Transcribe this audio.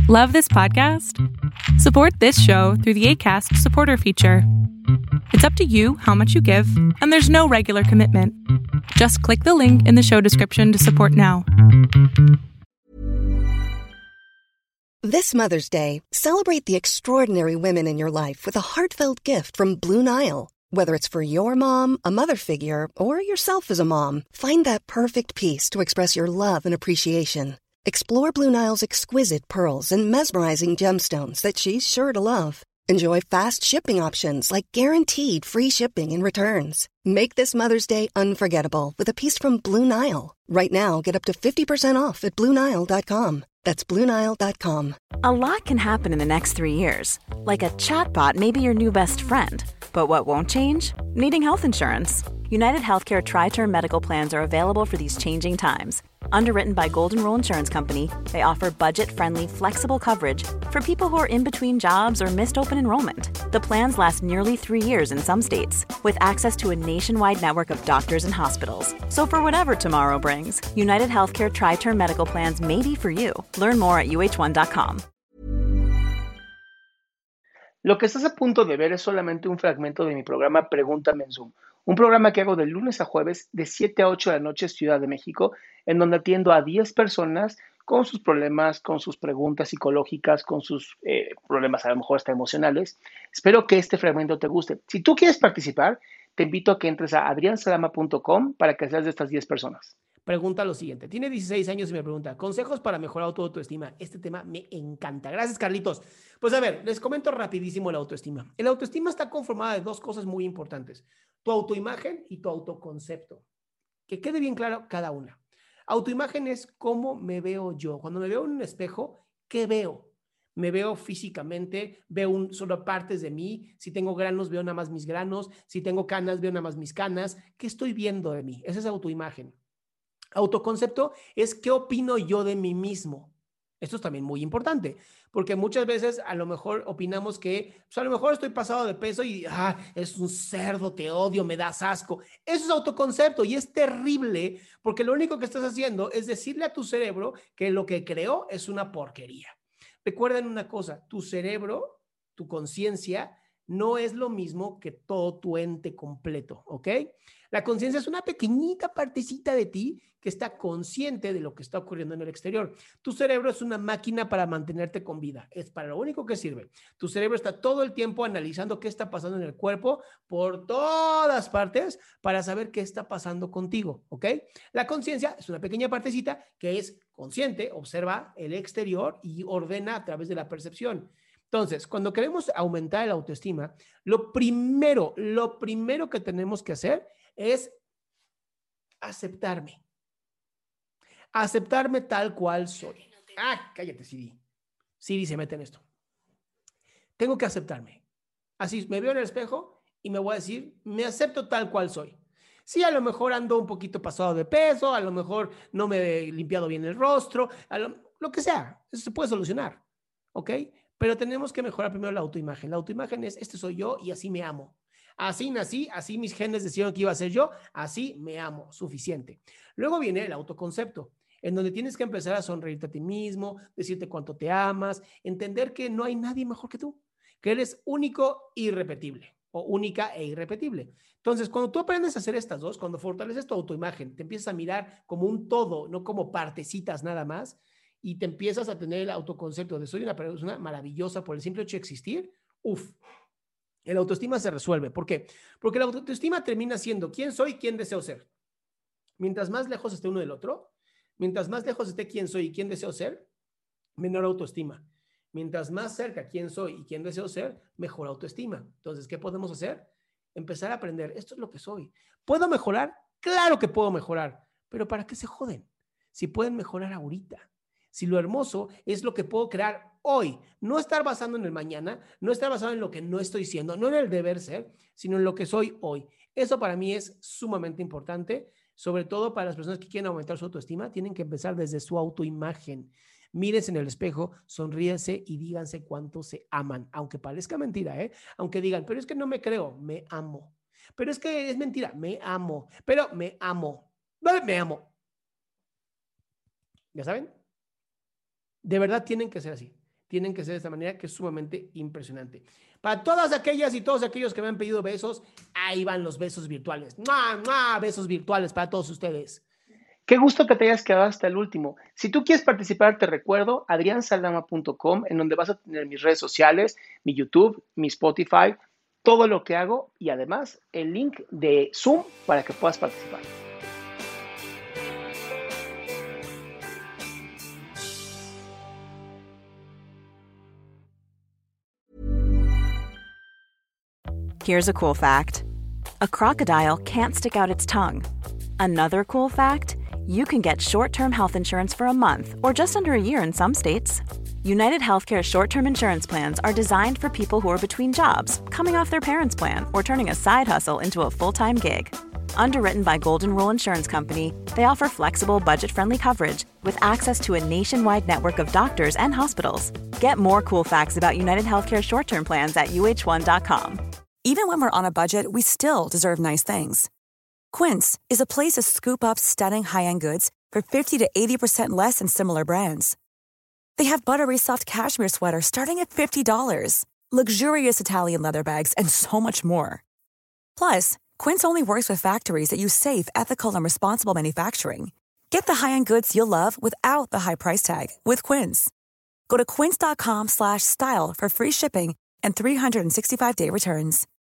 Love this podcast? Support this show through the Acast supporter feature. It's up to you how much you give, and there's no regular commitment. Just click the link in the show description to support now. This Mother's Day, celebrate the extraordinary women in your life with a heartfelt gift from Blue Nile. Whether it's for your mom, a mother figure, or yourself as a mom, find that perfect piece to express your love and appreciation. Explore Blue Nile's exquisite pearls and mesmerizing gemstones that she's sure to love. Enjoy fast shipping options like guaranteed free shipping and returns. Make this Mother's Day unforgettable with a piece from Blue Nile. Right now, get up to 50% off at BlueNile.com. That's BlueNile.com. A lot can happen in the next 3 years. Like a chatbot may be your new best friend. But what won't change? Needing health insurance. United Healthcare Tri-Term Medical Plans are available for these changing times. Underwritten by Golden Rule Insurance Company, they offer budget-friendly, flexible coverage for people who are in between jobs or missed open enrollment. The plans last nearly 3 years in some states, with access to a nationwide network of doctors and hospitals. So for whatever tomorrow brings, United Healthcare Tri-Term Medical Plans may be for you. Learn more at uh1.com. Lo que estás a punto de ver es solamente un fragmento de mi programa Pregúntame en Zoom, un programa que hago de lunes a jueves de 7 a 8 de la noche, Ciudad de México, en donde atiendo a 10 personas con sus problemas, con sus preguntas psicológicas, con sus problemas a lo mejor hasta emocionales. Espero que este fragmento te guste. Si tú quieres participar, te invito a que entres a adriansalama.com para que seas de estas 10 personas. Pregunta lo siguiente. Tiene 16 años y me pregunta, consejos para mejorar tu autoestima. Este tema me encanta. Gracias, Carlitos. Pues a ver, les comento rapidísimo la autoestima. El autoestima está conformada de dos cosas muy importantes. Tu autoimagen y tu autoconcepto. Que quede bien claro cada una. Autoimagen es cómo me veo yo. Cuando me veo en un espejo, ¿qué veo? Me veo físicamente, veo solo partes de mí. Si tengo granos, veo nada más mis granos. Si tengo canas, veo nada más mis canas. ¿Qué estoy viendo de mí? Esa es autoimagen. Autoconcepto es qué opino yo de mí mismo. Esto es también muy importante, porque muchas veces a lo mejor opinamos que pues a lo mejor estoy pasado de peso y es un cerdo, te odio, me das asco. Eso es autoconcepto y es terrible porque lo único que estás haciendo es decirle a tu cerebro que lo que creó es una porquería. Recuerden una cosa, tu cerebro, tu conciencia, no es lo mismo que todo tu ente completo, ¿ok? La conciencia es una pequeñita partecita de ti que está consciente de lo que está ocurriendo en el exterior. Tu cerebro es una máquina para mantenerte con vida. Es para lo único que sirve. Tu cerebro está todo el tiempo analizando qué está pasando en el cuerpo por todas partes para saber qué está pasando contigo, ¿ok? La conciencia es una pequeña partecita que es consciente, observa el exterior y ordena a través de la percepción. Entonces, cuando queremos aumentar el autoestima, lo primero que tenemos que hacer es aceptarme. Aceptarme tal cual soy. Cállate, Siri. Siri se mete en esto. Tengo que aceptarme. Así, me veo en el espejo y me voy a decir, me acepto tal cual soy. Sí, a lo mejor ando un poquito pasado de peso, a lo mejor no me he limpiado bien el rostro, lo que sea. Eso se puede solucionar, ¿ok? Pero tenemos que mejorar primero la autoimagen. La autoimagen es, este soy yo y así me amo. Así nací, así mis genes decidieron que iba a ser yo, así me amo, suficiente. Luego viene el autoconcepto, en donde tienes que empezar a sonreírte a ti mismo, decirte cuánto te amas, entender que no hay nadie mejor que tú, que eres único e irrepetible, o única e irrepetible. Entonces, cuando tú aprendes a hacer estas dos, cuando fortaleces tu autoimagen, te empiezas a mirar como un todo, no como partecitas nada más, y te empiezas a tener el autoconcepto de soy una persona maravillosa por el simple hecho de existir, el autoestima se resuelve. ¿Por qué? Porque la autoestima termina siendo quién soy, quién deseo ser. Mientras más lejos esté uno del otro, mientras más lejos esté quién soy y quién deseo ser, menor autoestima. Mientras más cerca quién soy y quién deseo ser, mejor autoestima. Entonces, ¿qué podemos hacer? Empezar a aprender, esto es lo que soy. ¿Puedo mejorar? Claro que puedo mejorar, pero ¿para qué se joden? Si pueden mejorar ahorita. Si lo hermoso es lo que puedo crear hoy, no estar basando en el mañana, no estar basado en lo que no estoy siendo, no en el deber ser, sino en lo que soy hoy. Eso para mí es sumamente importante, sobre todo para las personas que quieren aumentar su autoestima, tienen que empezar desde su autoimagen. Mírense en el espejo, sonríense y díganse cuánto se aman, aunque parezca mentira, aunque digan, pero es que no me creo, me amo. Pero es que es mentira, me amo, pero me amo. ¿Dónde me amo? ¿Ya saben? De verdad tienen que ser así. tienen que ser de esta manera, que es sumamente impresionante. Para todas aquellas y todos aquellos que me han pedido besos, ahí van los besos virtuales. ¡Mua, mua! Besos virtuales para todos ustedes. Qué gusto que te hayas quedado hasta el último. Si tú quieres participar, te recuerdo adriansaldama.com, en donde vas a tener mis redes sociales, mi YouTube, mi Spotify, todo lo que hago y además el link de Zoom para que puedas participar. Here's a cool fact. A crocodile can't stick out its tongue. Another cool fact, you can get short-term health insurance for a month or just under a year in some states. United Healthcare short-term insurance plans are designed for people who are between jobs, coming off their parents' plan, or turning a side hustle into a full-time gig. Underwritten by Golden Rule Insurance Company, they offer flexible, budget-friendly coverage with access to a nationwide network of doctors and hospitals. Get more cool facts about United Healthcare short-term plans at uh1.com. Even when we're on a budget, we still deserve nice things. Quince is a place to scoop up stunning high-end goods for 50 to 80% less than similar brands. They have buttery soft cashmere sweaters starting at $50, luxurious Italian leather bags, and so much more. Plus, Quince only works with factories that use safe, ethical, and responsible manufacturing. Get the high-end goods you'll love without the high price tag with Quince. Go to quince.com/style for free shipping and 365-day returns.